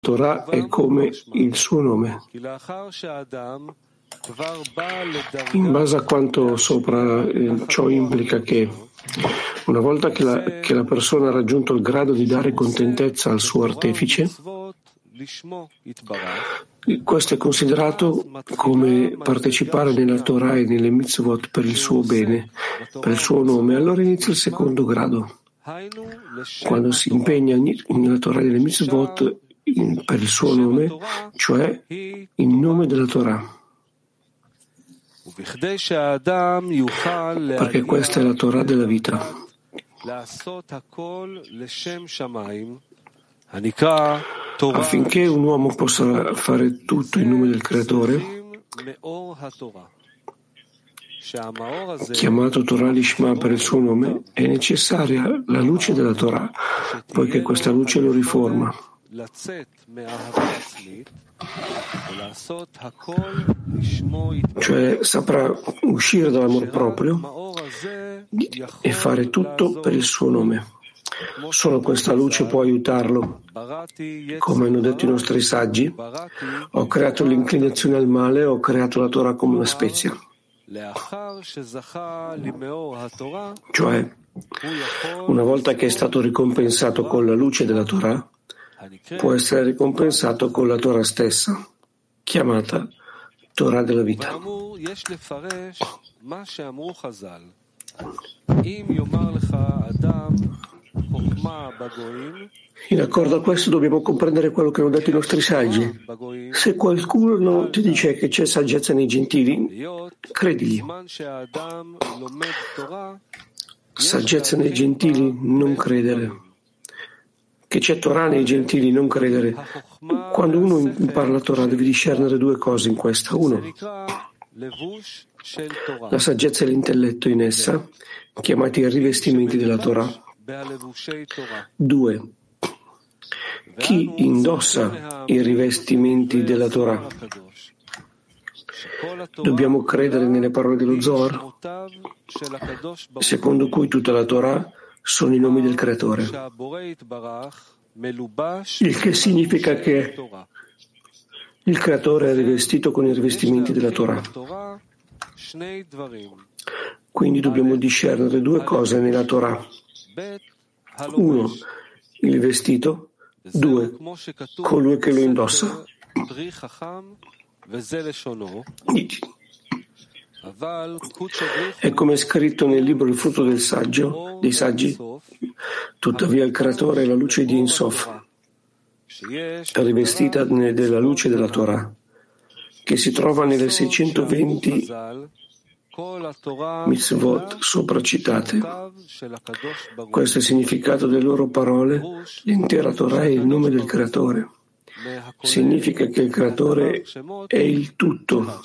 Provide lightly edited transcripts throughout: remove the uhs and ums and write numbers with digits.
Torah è come il suo nome. In base a quanto sopra, ciò implica che una volta che la persona ha raggiunto il grado di dare contentezza al suo artefice, questo è considerato come partecipare nella Torah e nelle mitzvot per il suo bene, per il suo nome. Allora inizia il secondo grado. Quando si impegna nella Torah e nelle mitzvot per il suo nome, cioè in nome della Torah. Perché questa è la Torah della vita. Affinché un uomo possa fare tutto in nome del Creatore, chiamato Torah Lishma per il suo nome, è necessaria la luce della Torah, poiché questa luce lo riforma. Cioè saprà uscire dall'amor proprio e fare tutto per il suo nome. Solo questa luce può aiutarlo. Come hanno detto i nostri saggi, ho creato l'inclinazione al male, ho creato la Torah come una spezia. Cioè, una volta che è stato ricompensato con la luce della Torah, può essere ricompensato con la Torah stessa, chiamata Torah della vita. In accordo a questo dobbiamo comprendere quello che hanno detto i nostri saggi. Se qualcuno ti dice che c'è saggezza nei gentili, credigli. Saggezza nei gentili, non credere. Che c'è Torah nei gentili, non credere. Quando uno impara la Torah deve discernere due cose in questa. Uno, la saggezza e l'intelletto in essa, chiamati rivestimenti della Torah. Due, chi indossa i rivestimenti della Torah. Dobbiamo credere nelle parole dello Zohar, secondo cui tutta la Torah sono i nomi del Creatore, il che significa che il Creatore è rivestito con i rivestimenti della Torah. Quindi dobbiamo discernere due cose nella Torah. Uno, il vestito. Due, colui che lo indossa. È come è scritto nel libro Il frutto dei saggi, tuttavia il Creatore è la luce di Ein Sof, rivestita della luce della Torah, che si trova nelle 620 mitzvot sopracitate. Questo è il significato delle loro parole. L'intera Torah è il nome del Creatore. Significa che il Creatore è il tutto.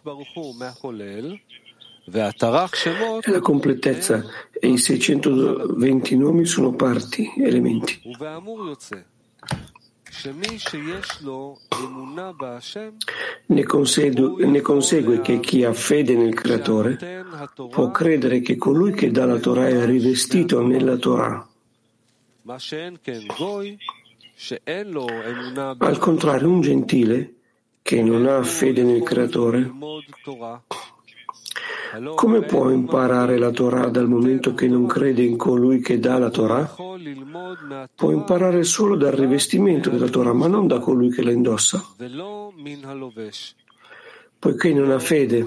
E la completezza e i 620 nomi sono parti, elementi. Ne consegue che chi ha fede nel Creatore può credere che colui che dà la Torah è rivestito nella Torah. Al contrario, un gentile che non ha fede nel Creatore, come può imparare la Torah dal momento che non crede in colui che dà la Torah? Può imparare solo dal rivestimento della Torah, ma non da colui che la indossa, poiché non ha fede.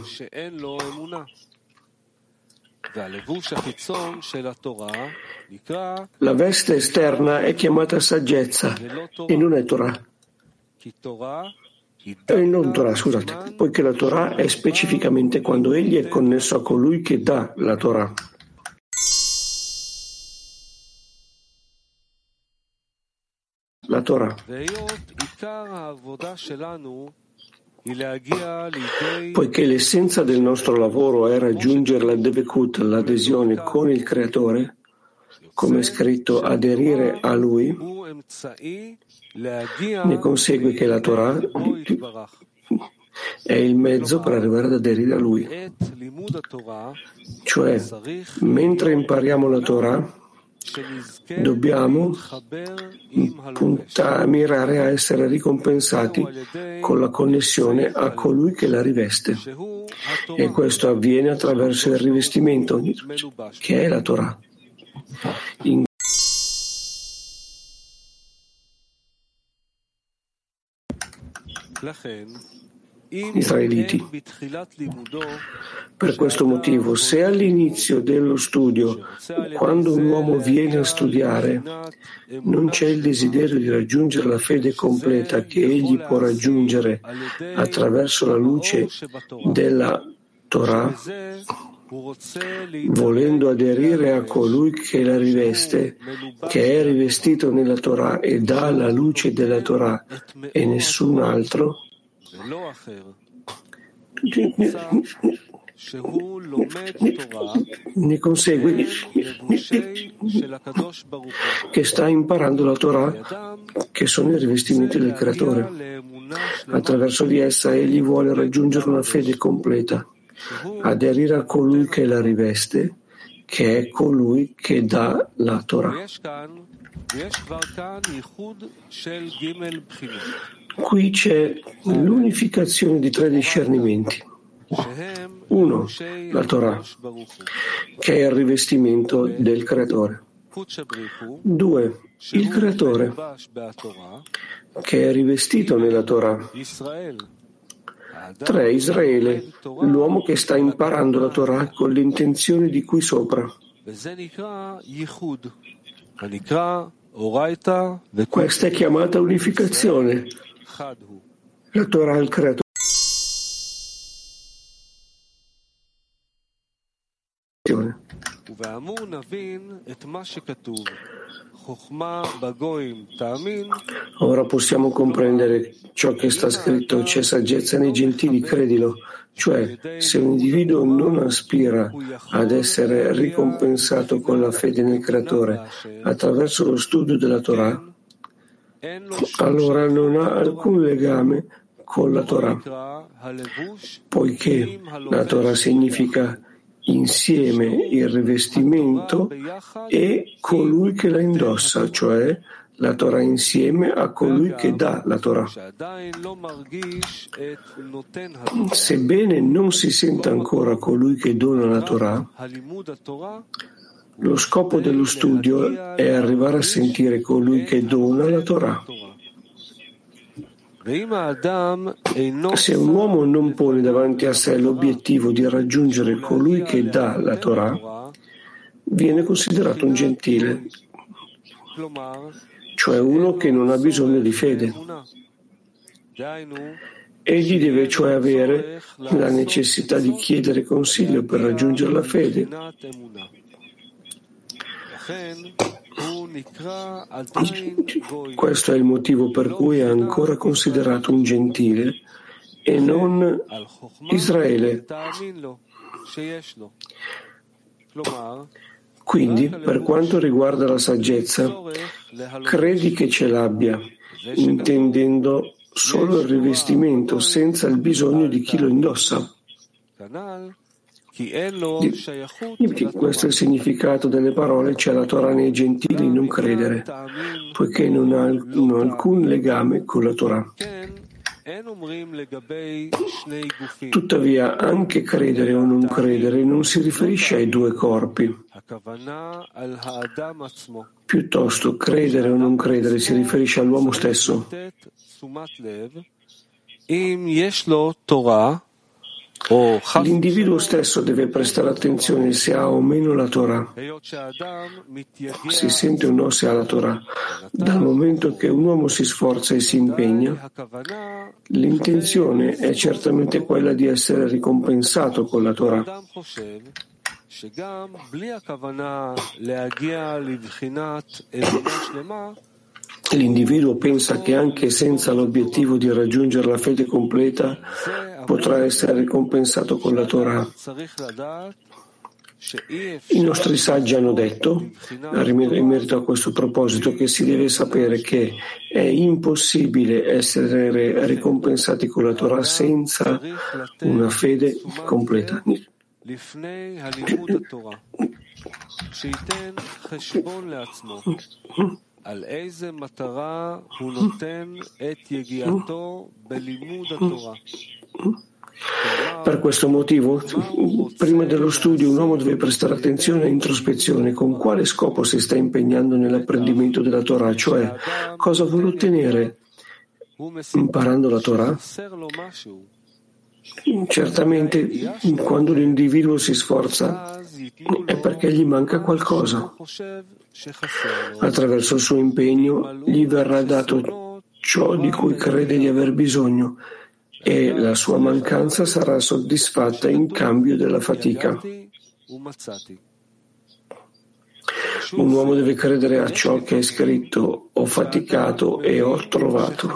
La veste esterna è chiamata saggezza e non è Torah. Poiché la Torah è specificamente quando egli è connesso a colui che dà la Torah. La Torah. Poiché l'essenza del nostro lavoro è raggiungere la Devekut, l'adesione con il Creatore, come è scritto aderire a Lui, ne consegue che la Torah è il mezzo per arrivare ad aderire a Lui. Cioè, mentre impariamo la Torah, Dobbiamo mirare a essere ricompensati con la connessione a colui che la riveste. E questo avviene attraverso il rivestimento, che è la Torah. Israeliti. Per questo motivo, se all'inizio dello studio, quando un uomo viene a studiare, non c'è il desiderio di raggiungere la fede completa che egli può raggiungere attraverso la luce della Torah, volendo aderire a colui che la riveste, che è rivestito nella Torah e dà la luce della Torah e nessun altro, ne consegue che sta imparando la Torah, che sono i rivestimenti del Creatore. Attraverso di essa egli vuole raggiungere una fede completa, aderire a colui che la riveste, che è colui che dà la Torah. Qui c'è l'unificazione di 3 discernimenti. 1. La Torah, che è il rivestimento del Creatore. 2. Il Creatore, che è rivestito nella Torah. 3. Israele, l'uomo che sta imparando la Torah con l'intenzione di qui sopra. Questa è chiamata unificazione. La Torah al Creatore. Ora possiamo comprendere ciò che sta scritto: c'è saggezza nei gentili, credilo. Cioè, se un individuo non aspira ad essere ricompensato con la fede nel Creatore attraverso lo studio della Torah, allora non ha alcun legame con la Torah, poiché la Torah significa insieme il rivestimento e colui che la indossa, cioè la Torah insieme a colui che dà la Torah. Sebbene non si senta ancora colui che dona la Torah, lo scopo dello studio è arrivare a sentire colui che dona la Torah. Se un uomo non pone davanti a sé l'obiettivo di raggiungere colui che dà la Torah, viene considerato un gentile, cioè uno che non ha bisogno di fede. Egli deve cioè avere la necessità di chiedere consiglio per raggiungere la fede. Questo è il motivo per cui è ancora considerato un gentile e non Israele. Quindi, per quanto riguarda la saggezza, credi che ce l'abbia, intendendo solo il rivestimento senza il bisogno di chi lo indossa. Questo è il significato delle parole: c'è la Torah nei gentili, non credere, poiché non ha alcun legame con la Torah. Tuttavia, anche credere o non credere non si riferisce ai 2 corpi. Piuttosto, credere o non credere si riferisce all'uomo stesso. L'individuo stesso deve prestare attenzione se ha o meno la Torah, si sente o no se ha la Torah. Dal momento che un uomo si sforza e si impegna, l'intenzione è certamente quella di essere ricompensato con la Torah. L'individuo pensa che anche senza l'obiettivo di raggiungere la fede completa potrà essere ricompensato con la Torah. I nostri saggi hanno detto, in merito a questo proposito, che si deve sapere che è impossibile essere ricompensati con la Torah senza una fede completa. Per questo motivo, prima dello studio, un uomo deve prestare attenzione e introspezione con quale scopo si sta impegnando nell'apprendimento della Torah, cioè cosa vuole ottenere imparando la Torah. Certamente, quando l'individuo si sforza è perché gli manca qualcosa. Attraverso il suo impegno gli verrà dato ciò di cui crede di aver bisogno e la sua mancanza sarà soddisfatta in cambio della fatica. Un uomo deve credere a ciò che è scritto: ho faticato e ho trovato.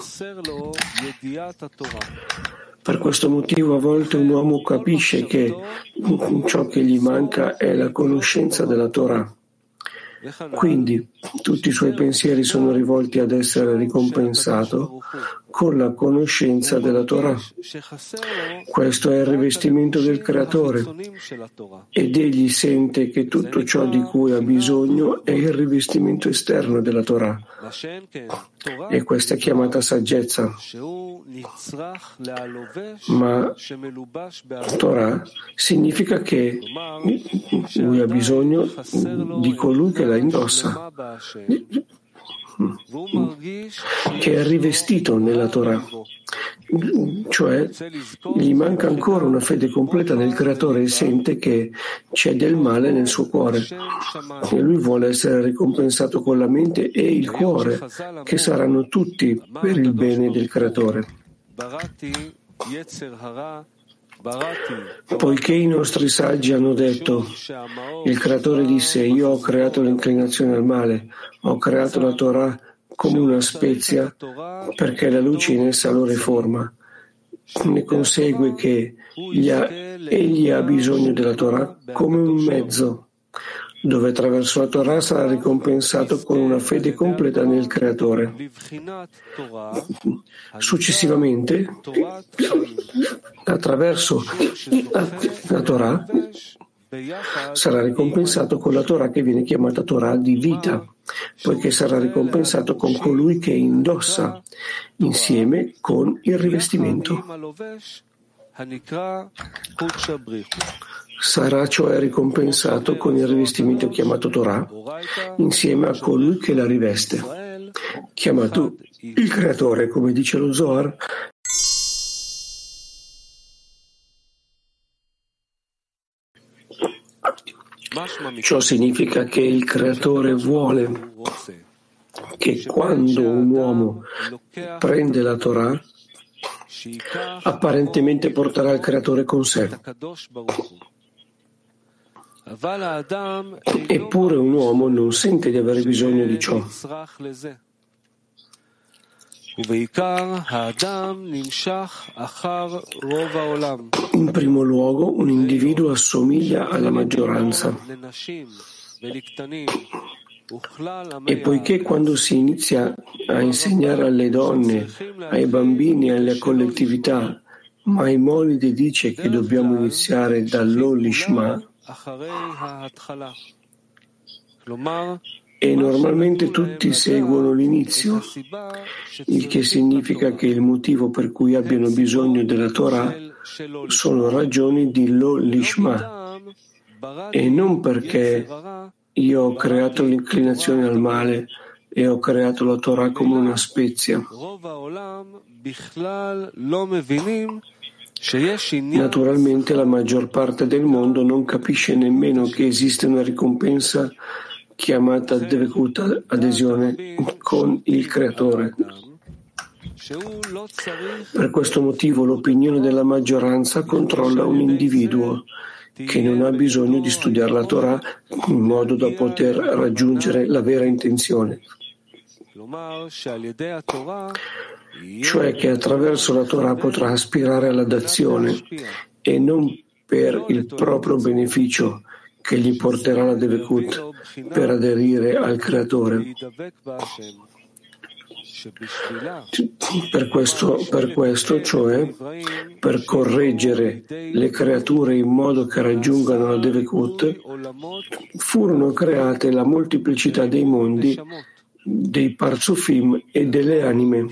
Per questo motivo a volte un uomo capisce che ciò che gli manca è la conoscenza della Torah. Quindi tutti i suoi pensieri sono rivolti ad essere ricompensato con la conoscenza della Torah. Questo è il rivestimento del Creatore ed egli sente che tutto ciò di cui ha bisogno è il rivestimento esterno della Torah. E questa è chiamata saggezza. Ma Torah significa che lui ha bisogno di colui che la indossa, che è rivestito nella Torah, cioè gli manca ancora una fede completa nel Creatore e sente che c'è del male nel suo cuore e lui vuole essere ricompensato con la mente e il cuore, che saranno tutti per il bene del Creatore. Poiché i nostri saggi hanno detto, il Creatore disse: io ho creato l'inclinazione al male, ho creato la Torah come una spezia perché la luce in essa lo riforma. Ne consegue che egli ha bisogno della Torah come un mezzo dove attraverso la Torah sarà ricompensato con una fede completa nel Creatore. Successivamente, attraverso la Torah, sarà ricompensato con la Torah che viene chiamata Torah di vita, poiché sarà ricompensato con colui che indossa insieme con il rivestimento. Sarà cioè ricompensato con il rivestimento chiamato Torah insieme a colui che la riveste, chiamato il Creatore, come dice lo Zohar. Ciò significa che il Creatore vuole che quando un uomo prende la Torah, apparentemente porterà il Creatore con sé. Eppure un uomo non sente di avere bisogno di ciò. In primo luogo, un individuo assomiglia alla maggioranza. E poiché quando si inizia a insegnare alle donne, ai bambini e alle collettività, Maimonide dice che dobbiamo iniziare dall'Olishma, e normalmente tutti seguono l'inizio, il che significa che il motivo per cui abbiano bisogno della Torah sono ragioni di L'Olishma e non perché io ho creato l'inclinazione al male e ho creato la Torah come una spezia. Naturalmente la maggior parte del mondo non capisce nemmeno che esiste una ricompensa chiamata Devekut, adesione con il Creatore. Per questo motivo l'opinione della maggioranza controlla un individuo che non ha bisogno di studiare la Torah in modo da poter raggiungere la vera intenzione, cioè che attraverso la Torah potrà aspirare alla dazione e non per il proprio beneficio che gli porterà la Devekut per aderire al Creatore. Per questo, cioè per correggere le creature in modo che raggiungano la Devekut, furono create la molteplicità dei mondi, dei parzufim e delle anime.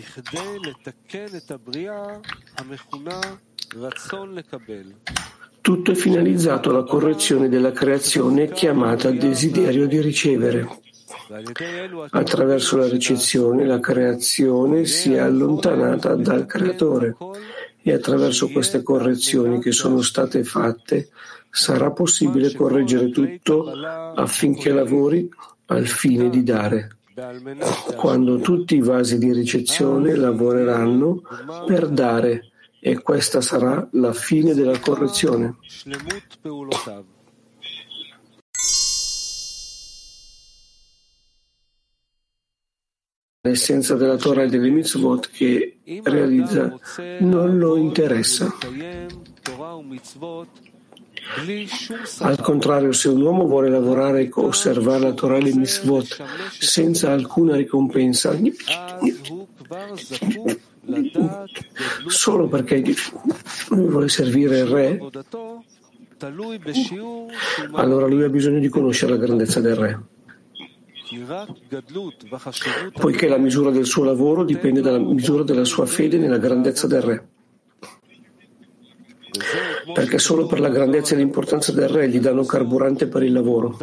Tutto è finalizzato alla correzione della creazione chiamata desiderio di ricevere. Attraverso la ricezione, la creazione si è allontanata dal creatore e attraverso queste correzioni che sono state fatte sarà possibile correggere tutto affinché lavori al fine di dare. Quando tutti i vasi di ricezione lavoreranno per dare, e questa sarà la fine della correzione. L'essenza della Torah e delle mitzvot che realizza non lo interessa. Al contrario, se un uomo vuole lavorare e osservare la Torah e le mitzvot senza alcuna ricompensa, solo perché lui vuole servire il re, allora lui ha bisogno di conoscere la grandezza del re, poiché la misura del suo lavoro dipende dalla misura della sua fede nella grandezza del re. Perché solo per la grandezza e l'importanza del re gli danno carburante per il lavoro.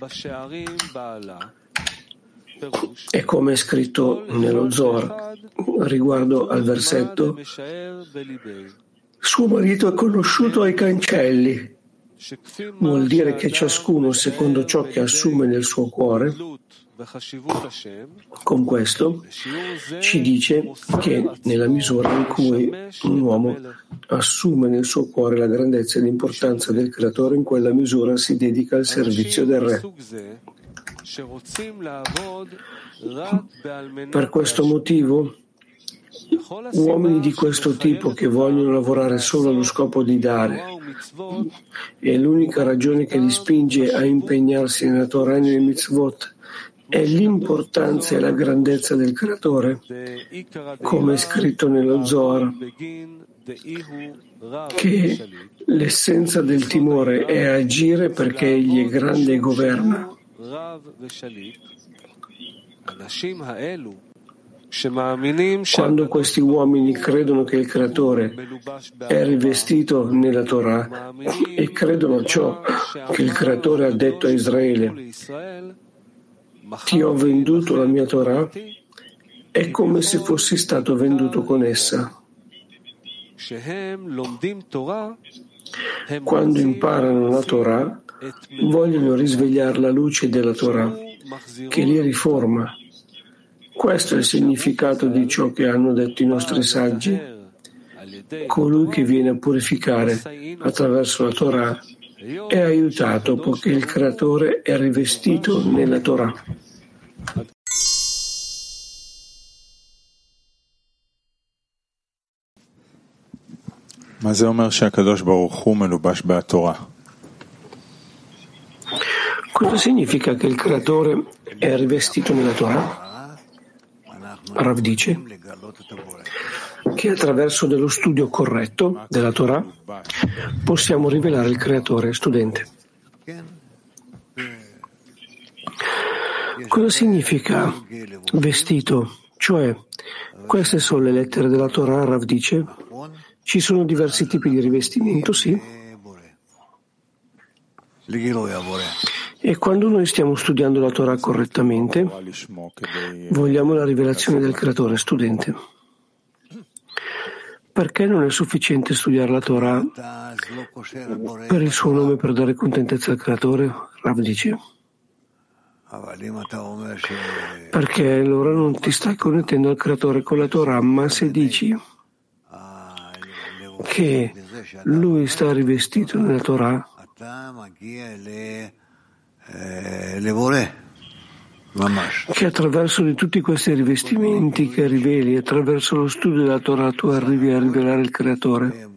E come è scritto nello Zohar riguardo al versetto, suo marito è conosciuto ai cancelli, vuol dire che ciascuno secondo ciò che assume nel suo cuore. Con questo ci dice che nella misura in cui un uomo assume nel suo cuore la grandezza e l'importanza del creatore, in quella misura si dedica al servizio del re. Per questo motivo, uomini di questo tipo che vogliono lavorare solo allo scopo di dare, e l'unica ragione che li spinge a impegnarsi nella Torah e nelle mitzvot è l'importanza e la grandezza del creatore, come è scritto nello Zohar, che l'essenza del timore è agire perché egli è grande e governa. Quando questi uomini credono che il creatore è rivestito nella Torah e credono a ciò che il creatore ha detto a Israele, ti ho venduto la mia Torah, è come se fossi stato venduto con essa. Quando imparano la Torah, vogliono risvegliare la luce della Torah, che li riforma. Questo è il significato di ciò che hanno detto i nostri saggi. Colui che viene a purificare attraverso la Torah è aiutato poiché il creatore è rivestito nella Torah. Cosa significa che il creatore è rivestito nella Torah? Rav dice che attraverso dello studio corretto della Torah possiamo rivelare il creatore. Studente. Cosa significa vestito? Cioè, queste sono le lettere della Torah, Rav dice. Ci sono diversi tipi di rivestimento, sì. E quando noi stiamo studiando la Torah correttamente, vogliamo la rivelazione del creatore. Studente. Perché non è sufficiente studiare la Torah per il suo nome per dare contentezza al creatore? Rav dice. Perché allora non ti stai connettendo al creatore con la Torah, ma se dici che lui sta rivestito nella Torah, che attraverso di tutti questi rivestimenti che riveli, attraverso lo studio della Torah, tu arrivi a rivelare il creatore.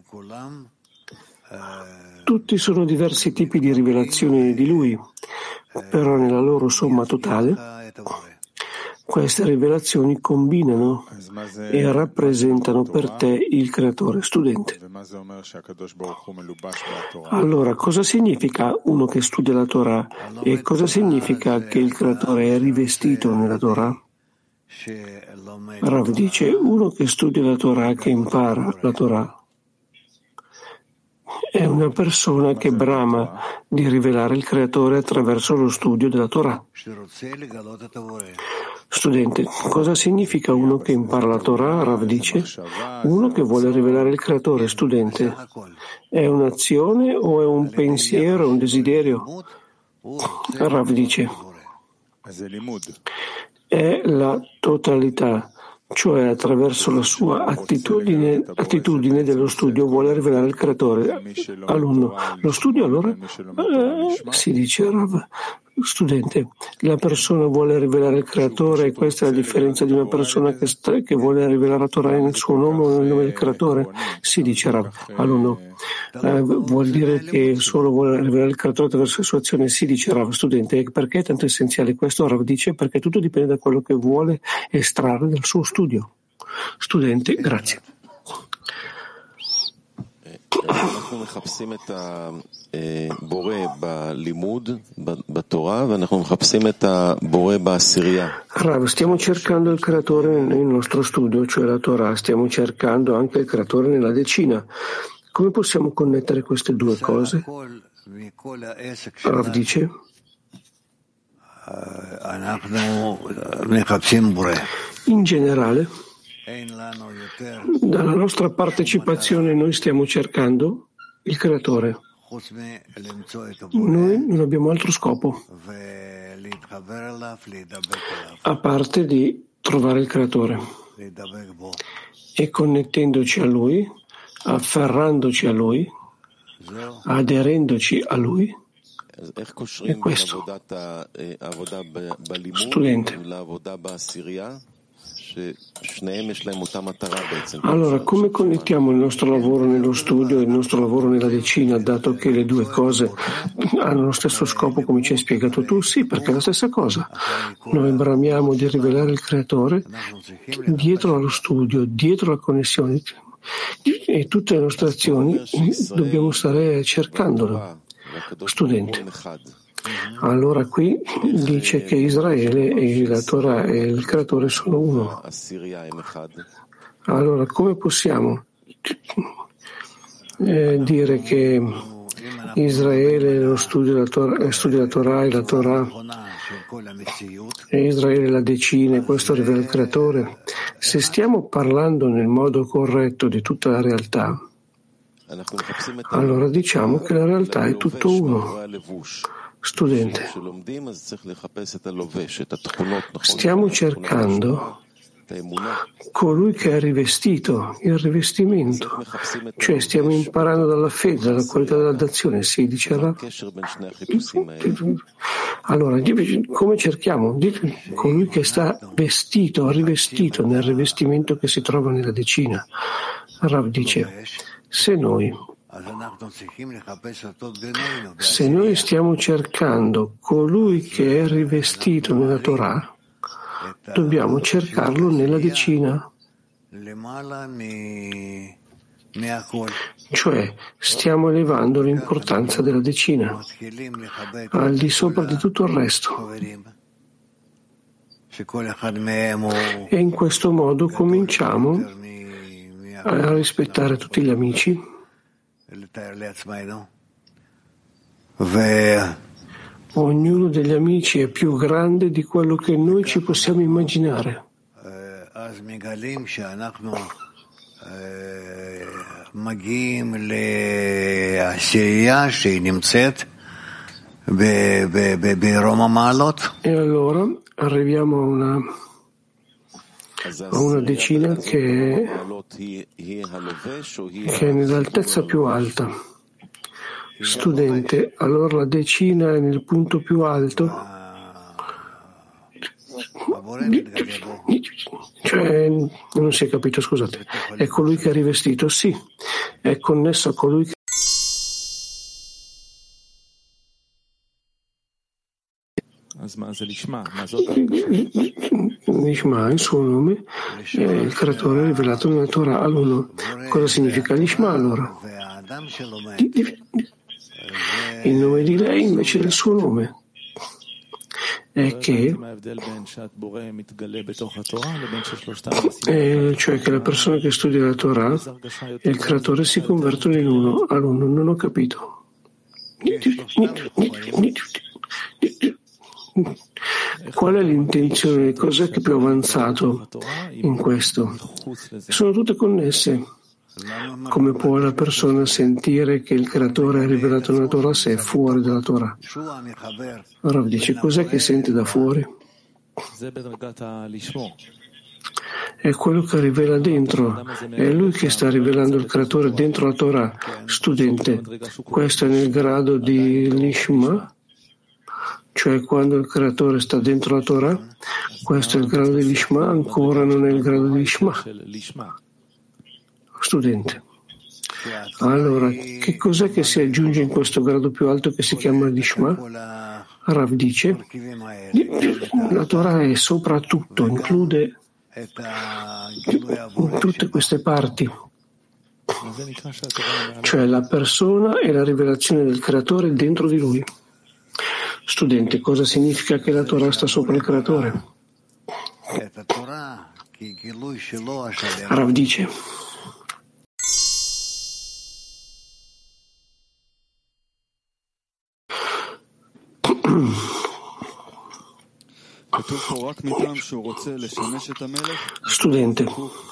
Tutti sono diversi tipi di rivelazione di lui, però nella loro somma totale queste rivelazioni combinano e rappresentano per te il creatore. Studente. Allora, cosa significa uno che studia la Torah e cosa significa che il Creatore è rivestito nella Torah? Rav dice, uno che studia la Torah, che impara la Torah, è una persona che brama di rivelare il Creatore attraverso lo studio della Torah. Studente, cosa significa uno che impara la Torah? Rav dice, uno che vuole rivelare il Creatore. Studente, è un'azione o è un pensiero, un desiderio? Rav dice, è la totalità, cioè attraverso la sua attitudine dello studio vuole rivelare il Creatore. Alunno, lo studio allora? Si dice Rav. Studente, la persona vuole rivelare il Creatore e questa è la differenza di una persona che vuole rivelare la Torah nel suo nome o nel nome del Creatore? Si dice Rav. Alunno, vuol dire che solo vuole rivelare il Creatore attraverso le sue azioni? Si dice Rav. Studente, perché è tanto essenziale questo? Rav dice perché tutto dipende da quello che vuole estrarre dal suo studio. Studente, grazie. אנחנו מחפשים את הבורא בלימוד בתורה ואנחנו מחפשים את הבורא בעשירייה. Rav, stiamo cercando il creatore nel nostro studio, cioè la Torah, stiamo cercando anche il creatore nella decina. Come possiamo connettere queste due cose? Rav dice, in generale, dalla nostra partecipazione noi stiamo cercando il Creatore. Noi non abbiamo altro scopo, a parte di trovare il Creatore e connettendoci a Lui, afferrandoci a Lui, aderendoci a Lui. È questo. Studente. Allora, come connettiamo il nostro lavoro nello studio e il nostro lavoro nella decina, dato che le due cose hanno lo stesso scopo, come ci hai spiegato tu? Sì, perché è la stessa cosa. Noi bramiamo di rivelare il Creatore dietro allo studio, dietro la connessione, e tutte le nostre azioni dobbiamo stare cercandolo. Studente. Allora qui dice che Israele e la Torah e il Creatore sono uno. Allora come possiamo dire che Israele lo studia la Torah e la Torah e Israele la decina e questo rivela il Creatore? Se stiamo parlando nel modo corretto di tutta la realtà, allora diciamo che la realtà è tutto uno. Studente, stiamo cercando colui che è rivestito, il rivestimento, cioè stiamo imparando dalla fede, dalla qualità della dazione, si dice allora, come cerchiamo? Colui che sta vestito, rivestito nel rivestimento che si trova nella decina. Rav dice, se noi stiamo cercando colui che è rivestito nella Torah, dobbiamo cercarlo nella decina. Cioè, stiamo elevando l'importanza della decina al di sopra di tutto il resto. E in questo modo cominciamo a rispettare tutti gli amici. Ognuno degli amici è più grande di quello che noi ci possiamo immaginare. E allora arriviamo a una decina che è nell'altezza più alta. Studente, allora la decina è nel punto più alto? Cioè, non si è capito, scusate. È colui che è rivestito? Sì, è connesso a colui che Lishma, il suo nome, il creatore rivelato nella Torah all'uno. Cosa significa Lishma allora? Il nome di lei invece del suo nome. È che cioè che la persona che studia la Torah e il creatore si convertono in uno all'uno. Non ho capito. Qual è l'intenzione? Cos'è che è più avanzato in questo? Sono tutte connesse. Come può la persona sentire che il creatore è rivelato nella Torah se è fuori dalla Torah? Rav dice, cos'è che sente da fuori? È quello che rivela dentro, è lui che sta rivelando il creatore dentro la Torah. Studente, questo è nel grado di Lishma, cioè quando il creatore sta dentro la Torah, questo è il grado di Lishma, ancora non è il grado di Lishma. Studente, allora che cos'è che si aggiunge in questo grado più alto che si chiama Lishma? Rav dice, la Torah è soprattutto, include tutte queste parti, cioè la persona e la rivelazione del creatore dentro di lui. Studente, cosa significa che la Torah sta sopra il creatore? Rav dice, studente,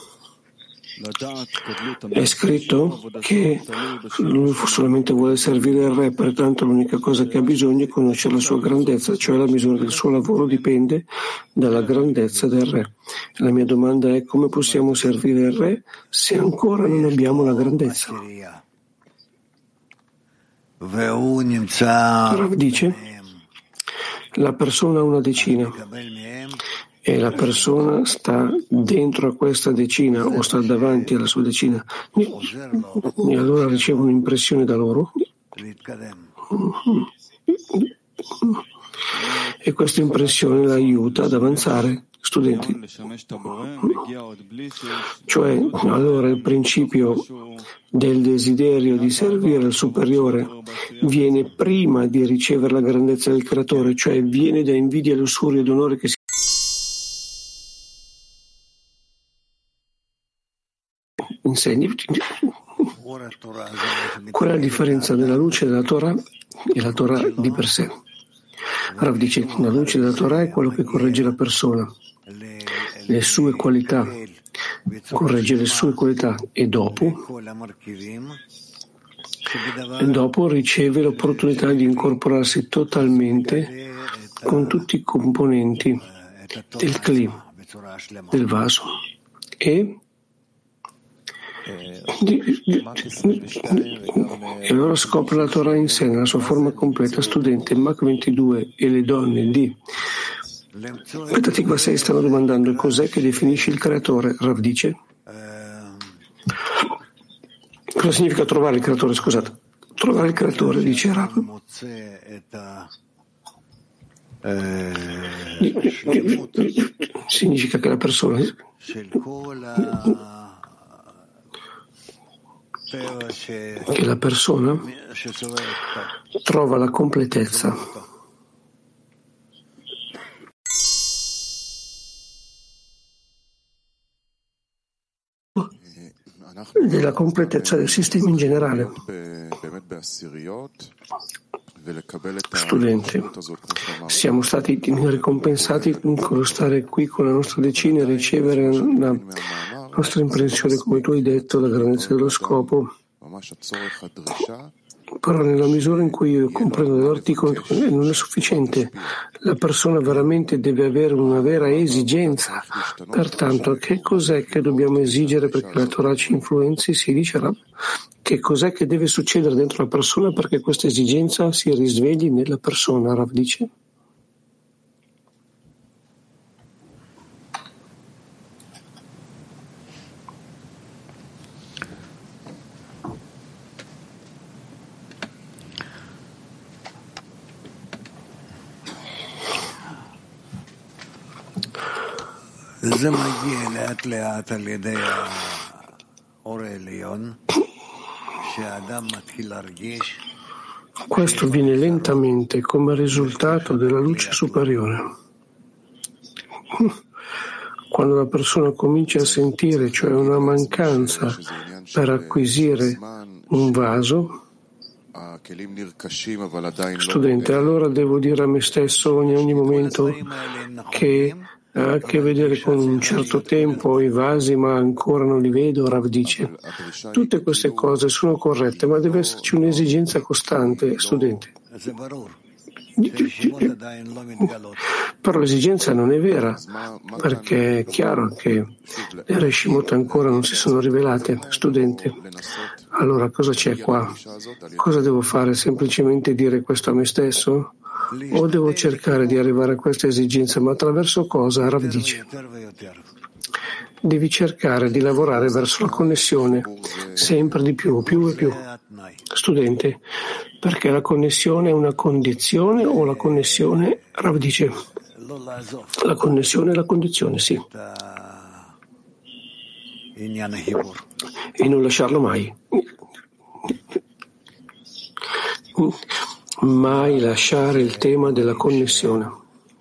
è scritto che lui solamente vuole servire il re, pertanto l'unica cosa che ha bisogno è conoscere la sua grandezza, cioè la misura del suo lavoro dipende dalla grandezza del re. La mia domanda è come possiamo servire il re se ancora non abbiamo la grandezza? Rav dice, la persona ha una decina e la persona sta dentro a questa decina o sta davanti alla sua decina e allora riceve un'impressione da loro e questa impressione la aiuta ad avanzare. Studenti, cioè allora il principio del desiderio di servire al superiore viene prima di ricevere la grandezza del creatore, cioè viene da invidia, lussuria ed onore che si insegni. Qual è la differenza della luce della Torah e la Torah di per sé? Rav dice, la luce della Torah è quello che corregge la persona, le sue qualità, corregge le sue qualità e dopo riceve l'opportunità di incorporarsi totalmente con tutti i componenti del Kli, del vaso e allora scopre la Torah in sé, nella sua forma completa. Studente, Mach 22 e le donne di Petatikva 6 stanno domandando cos'è che definisce il creatore. Rav dice, cosa significa trovare il creatore? Scusate, trovare il creatore, dice Rav, significa che la persona trova la completezza della completezza del sistema in generale. Studente, siamo stati ricompensati con lo stare qui con la nostra decina e ricevere la nostra impressione, come tu hai detto, la grandezza dello scopo. Però nella misura in cui io comprendo dell'articolo non è sufficiente. La persona veramente deve avere una vera esigenza. Pertanto, che cos'è che dobbiamo esigere perché la Torah ci influenzi? Si dice che cos'è che deve succedere dentro la persona perché questa esigenza si risvegli nella persona, Rav dice. Questo viene lentamente come risultato della luce superiore. Quando la persona comincia a sentire, cioè una mancanza per acquisire un vaso, studente, allora devo dire a me stesso in ogni momento che ha a che vedere con un certo tempo i vasi, ma ancora non li vedo. Rav dice, tutte queste cose sono corrette, ma deve esserci un'esigenza costante, studente. Però l'esigenza non è vera, perché è chiaro che le Reshimot ancora non si sono rivelate. Studente, allora cosa c'è qua? Cosa devo fare? Semplicemente dire questo a me stesso? O devo cercare di arrivare a questa esigenza? Ma attraverso cosa? Rav dice, devi cercare di lavorare verso la connessione, sempre di più e più. Studente, perché la connessione è una condizione o la connessione, Rav dice, la connessione è la condizione, sì. E non lasciarlo mai. Mai lasciare il tema della connessione.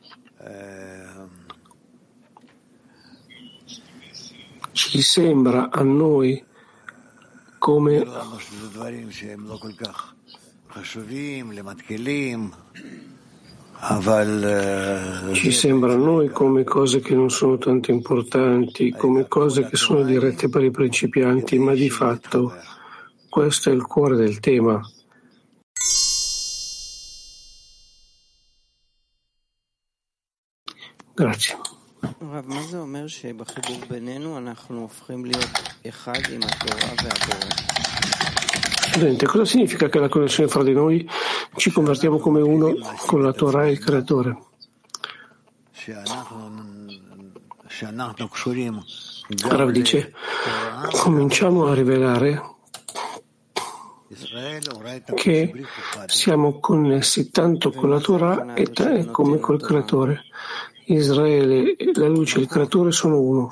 Ci sembra a noi come cose che non sono tanto importanti, come cose che sono dirette per i principianti, ma di fatto questo è il cuore del tema. Grazie. Studente, cosa significa che la connessione fra di noi ci convertiamo come uno con la Torah e il Creatore? Rav dice, cominciamo a rivelare che siamo connessi tanto con la Torah e come col Creatore. Israele, la luce e il Creatore sono uno.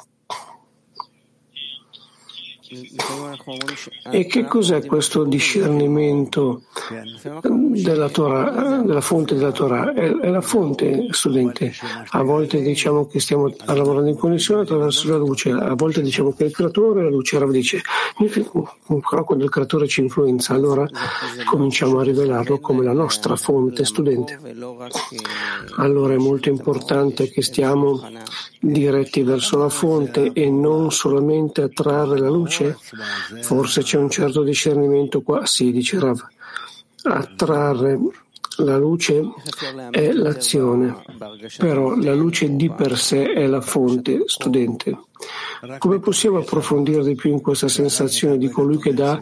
E che cos'è questo discernimento della Torah, della fonte della Torah? È la fonte, studente. A volte diciamo che stiamo lavorando in connessione attraverso la luce, a volte diciamo che il creatore, la luce. Rav dice, però quando il creatore ci influenza, allora cominciamo a rivelarlo come la nostra fonte, studente. Allora è molto importante che stiamo diretti verso la fonte e non solamente a trarre la luce. Forse c'è un certo discernimento qua. Sì, dice Rav, attrarre la luce è l'azione, però la luce di per sé è la fonte, studente. Come possiamo approfondire di più in questa sensazione di colui che dà,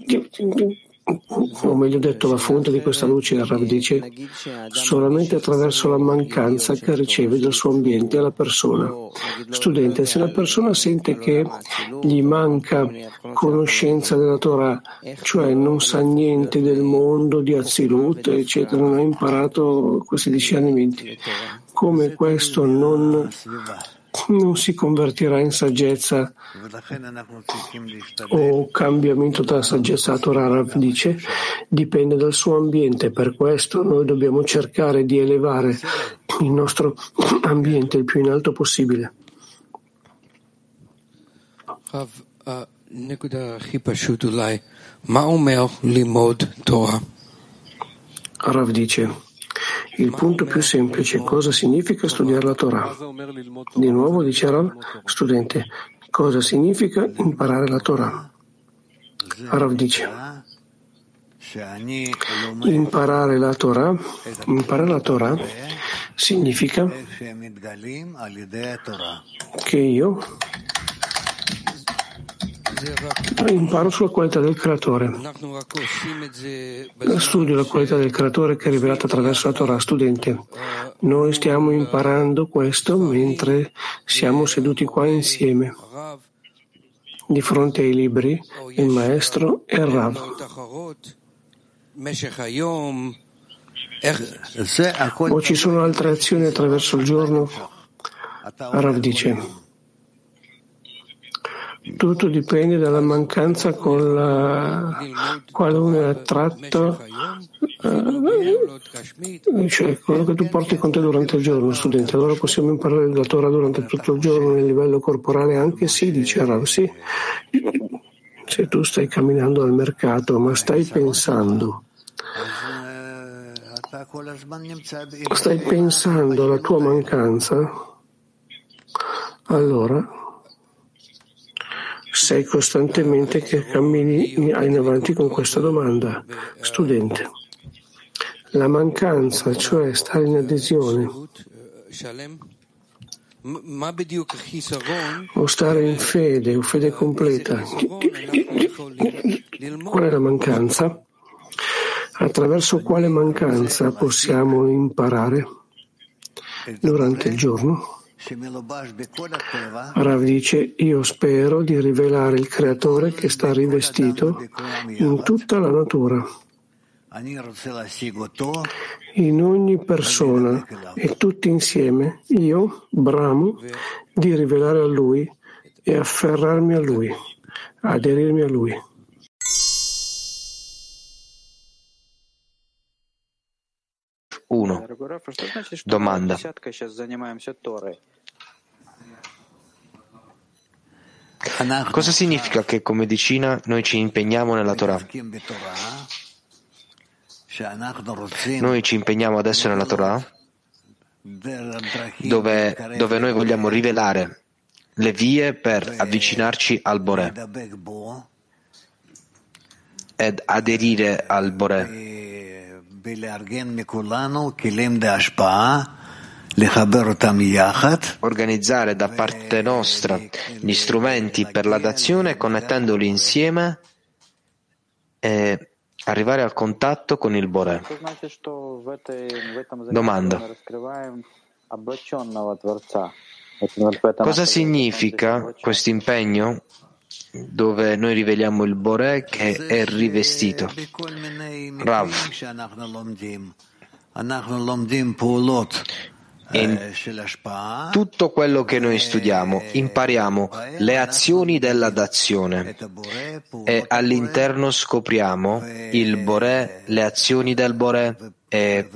o meglio detto, la fonte di questa luce? Rav dice, solamente attraverso la mancanza che riceve dal suo ambiente alla persona. Studente, se la persona sente che gli manca conoscenza della Torah, cioè non sa niente del mondo di Azilut, eccetera, non ha imparato questi discernimenti, come questo non si convertirà in saggezza o cambiamento dalla saggezza a Torah? Rav dice, dipende dal suo ambiente. Per questo noi dobbiamo cercare di elevare il nostro ambiente il più in alto possibile. Rav dice, il punto più semplice, cosa significa studiare la Torah? Di nuovo dice Rav, studente, cosa significa imparare la Torah? Rav dice, imparare la Torah significa che io imparo sulla qualità del Creatore. Studio la qualità del Creatore che è rivelata attraverso la Torah. Studente, noi stiamo imparando questo mentre siamo seduti qua insieme, di fronte ai libri, il maestro e il Rav. O ci sono altre azioni attraverso il giorno? Rav dice, Tutto dipende dalla mancanza con la quale uno è attratto, cioè quello che tu porti con te durante il giorno, studente. Allora possiamo imparare la Torah durante tutto il giorno nel livello corporale anche? Sì, dice Rav, sì. Se tu stai camminando al mercato, ma stai pensando alla tua mancanza, allora sei costantemente che cammini in avanti con questa domanda. Studente, la mancanza, cioè stare in adesione o stare in fede o fede completa, qual è la mancanza? Attraverso quale mancanza possiamo imparare durante il giorno? Rav dice, io spero di rivelare il Creatore che sta rivestito in tutta la natura, in ogni persona e tutti insieme. Io bramo di rivelare a Lui e afferrarmi a Lui, aderirmi a Lui. Domanda. Cosa significa che come decina noi ci impegniamo nella Torah? Noi ci impegniamo adesso nella Torah dove noi vogliamo rivelare le vie per avvicinarci al Boré ed aderire al Boré, organizzare da parte nostra gli strumenti per la dazione connettendoli insieme e arrivare al contatto con il Boré. Domanda. Cosa significa questo impegno dove noi riveliamo il Boré che è rivestito? Rav. In tutto quello che noi studiamo impariamo le azioni della dazione e all'interno scopriamo il Boré, le azioni del Boré e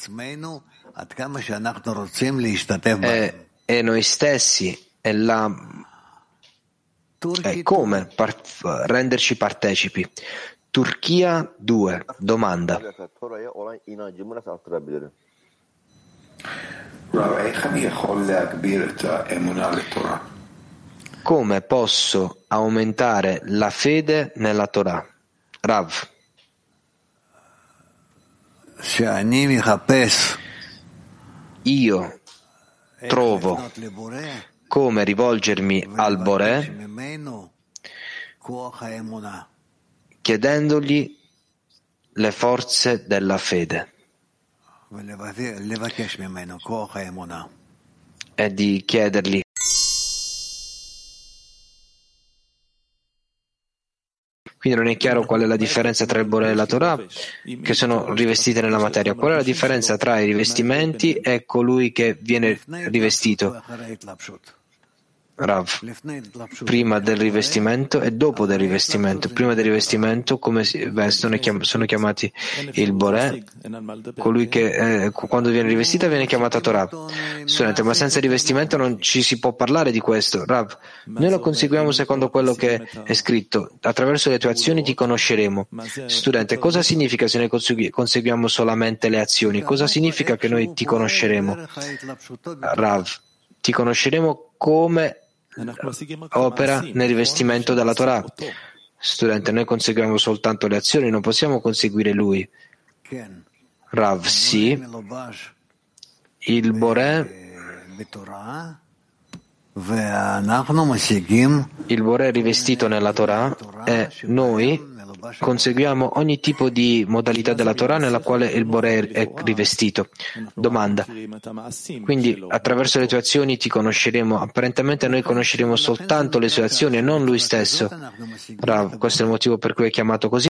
noi stessi e come renderci partecipi. Turchia 2. Domanda. Come posso aumentare la fede nella Torah? Rav. Io trovo come rivolgermi al Boré chiedendogli le forze della fede e di chiedergli Quindi non è chiaro qual è la differenza tra il Boré e la Torah, che sono rivestite nella materia. Qual è la differenza tra i rivestimenti e colui che viene rivestito? Rav, prima del rivestimento e dopo del rivestimento. Prima del rivestimento, come si vestono, sono chiamati il Boré, colui che quando viene rivestita viene chiamata Torah. Studente, ma senza rivestimento non ci si può parlare di questo. Rav, noi lo conseguiamo secondo quello che è scritto. Attraverso le tue azioni ti conosceremo. Studente, cosa significa se noi conseguiamo solamente le azioni? Cosa significa che noi ti conosceremo? Rav, ti conosceremo come opera nel rivestimento della Torah. Studente, noi conseguiamo soltanto le azioni, non possiamo conseguire lui. Rav, sì, il Boré è rivestito nella Torah e noi conseguiamo ogni tipo di modalità della Torah nella quale il Boré è rivestito. Domanda. Quindi attraverso le tue azioni ti conosceremo. Apparentemente noi conosceremo soltanto le sue azioni e non lui stesso. Rav, questo è il motivo per cui è chiamato così.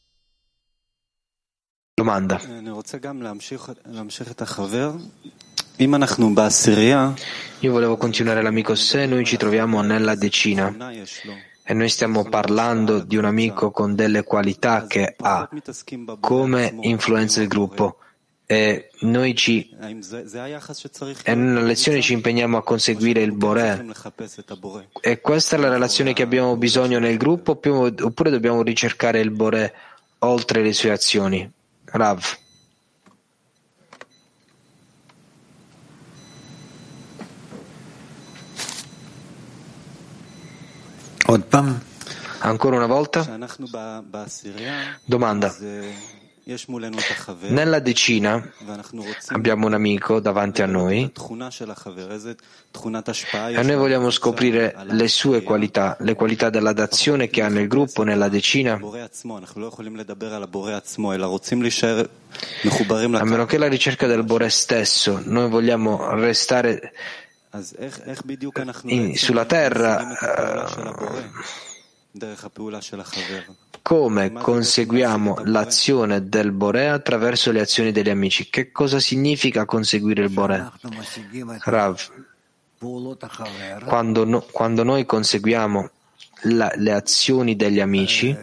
Domanda. Io volevo continuare l'amico. Se noi ci troviamo nella decina e noi stiamo parlando di un amico con delle qualità che ha come influenza il gruppo e noi nella lezione ci impegniamo a conseguire il Boré, e questa è la relazione che abbiamo bisogno nel gruppo, oppure dobbiamo ricercare il Boré oltre le sue azioni? Rav. Ancora una volta? Domanda. Nella decina abbiamo un amico davanti a noi e noi vogliamo scoprire le sue qualità, le qualità della dazione che ha nel gruppo, nella decina. A meno che la ricerca del Boré stesso, noi vogliamo restare sulla terra. Come conseguiamo l'azione del Boré attraverso le azioni degli amici? Che cosa significa conseguire il Boré? Rav, quando noi conseguiamo le azioni degli amici,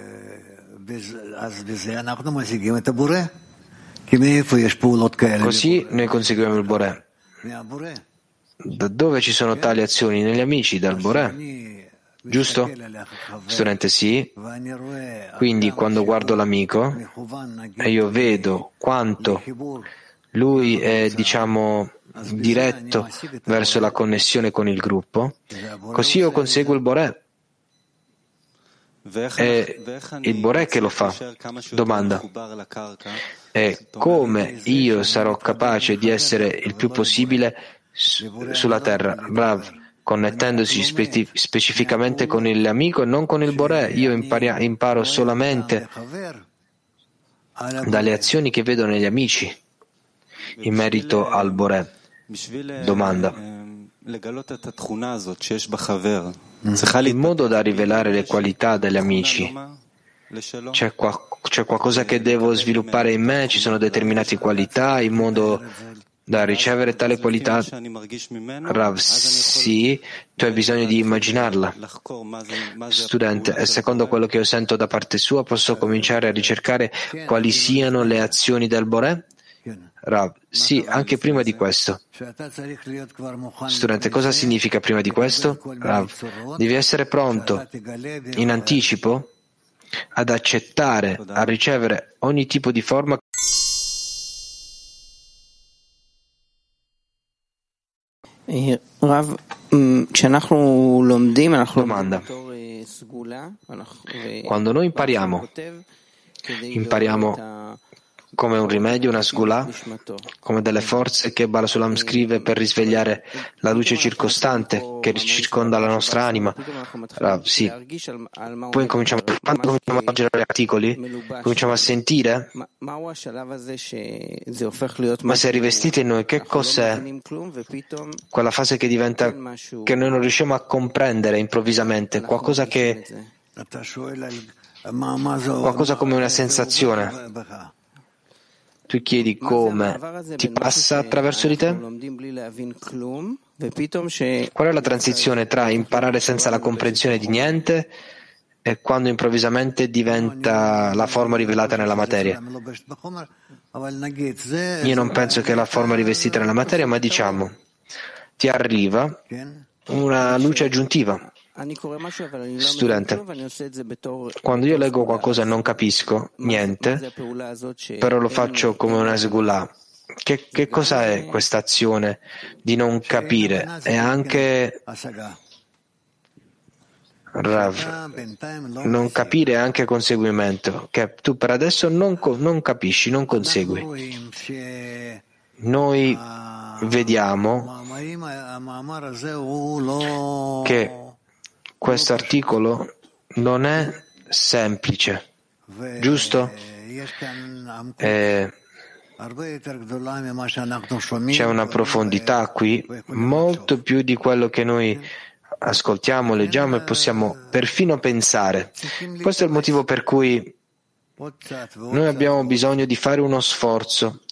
così noi conseguiamo il Boré. Da dove ci sono tali azioni? Negli amici, dal Boré. Giusto? Studente, sì. Quindi quando guardo l'amico e io vedo quanto lui è, diretto verso la connessione con il gruppo, così io conseguo il Boré. È il Boré che lo fa. Domanda. E come io sarò capace di essere il più possibile sulla terra? Bravo. Connettendosi specificamente con l'amico e non con il Boré. Io imparo solamente dalle azioni che vedo negli amici in merito al Boré. Domanda. In modo da rivelare le qualità degli amici, c'è qualcosa che devo sviluppare in me? Ci sono determinate qualità in modo da ricevere tale qualità? Rav, sì, tu hai bisogno di immaginarla. Studente, e secondo quello che io sento da parte sua posso cominciare a ricercare quali siano le azioni del Boré? Rav, sì, anche prima di questo. Studente, cosa significa prima di questo? Rav, devi essere pronto in anticipo ad accettare, a ricevere ogni tipo di forma. Domanda. Quando noi impariamo come un rimedio, una sgula, come delle forze che Baal Sulam scrive per risvegliare la luce circostante che circonda la nostra anima. Sì. Poi quando cominciamo a leggere gli articoli, cominciamo a sentire, ma se è rivestita in noi, che cos'è quella fase che diventa, che noi non riusciamo a comprendere improvvisamente, qualcosa come una sensazione. Tu chiedi come ti passa attraverso di te? Qual è la transizione tra imparare senza la comprensione di niente e quando improvvisamente diventa la forma rivelata nella materia? Io non penso che è la forma rivestita nella materia, ma ti arriva una luce aggiuntiva. Studente, quando io leggo qualcosa e non capisco niente, però lo faccio come una sgulà, che cosa è questa azione di non capire? È anche Rav, non capire è anche conseguimento, che tu per adesso non capisci, non consegui. Noi vediamo che questo articolo non è semplice, giusto? C'è una profondità qui, molto più di quello che noi ascoltiamo, leggiamo e possiamo perfino pensare. Questo è il motivo per cui noi abbiamo bisogno di fare uno sforzo